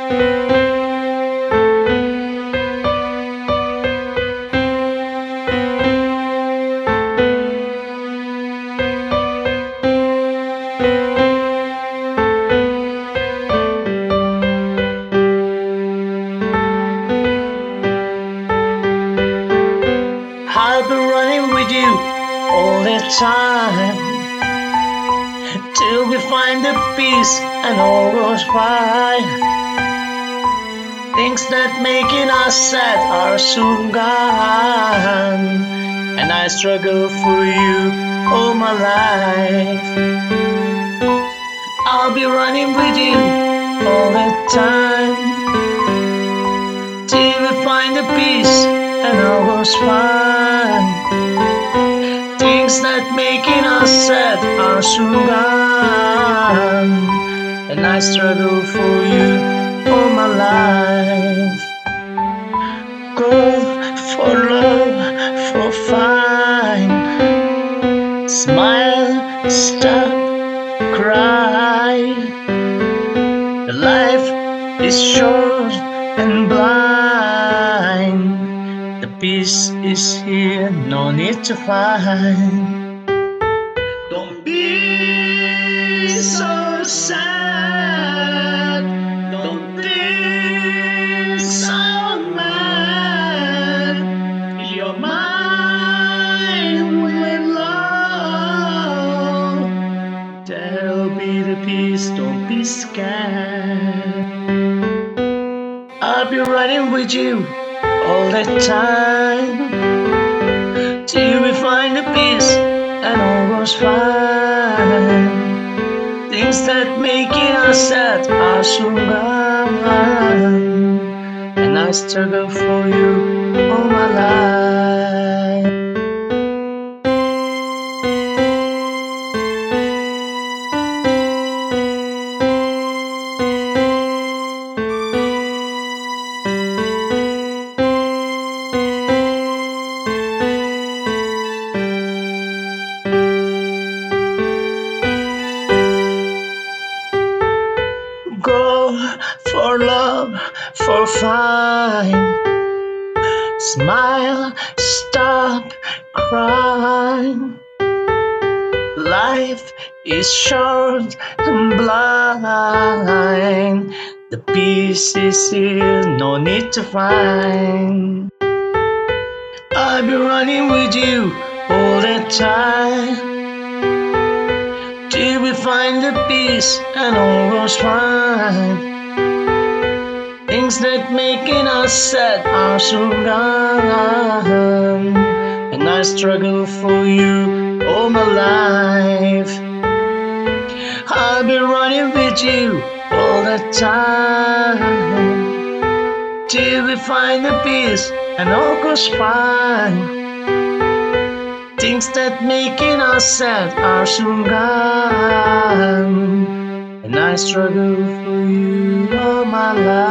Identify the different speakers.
Speaker 1: I'll be running with you all the time till we find the peace and all goes fine. Things that making us sad are soon gone, and I struggle for you all my life. I'll be running with you all the time till we find the peace and all goes fine. Things that making us sad are soon gone, and I struggle for you all my life. Go for love, for fine. Smile, stop, cry. Life is short and blind. The peace is here, no need to find. Don't be so sad. Don't think so mad. Your mind will love. There'll be the peace, don't be scared. I'll be running with you all the time till we find the peace and all goes fine. Things that making us sad are soon gone, and I struggle for you all my life. Go for love, for fine. Smile, stop crying. Life is short and blind. The peace is here, no need to find. I'll be running with you all the time till we find the peace and all goes fine. Things that making us sad are soon gone, and I struggle for you all my life. I'll be running with you all the time till we find the peace and all goes fine. Things that making us sad are soon gone, and I struggle for you all my life.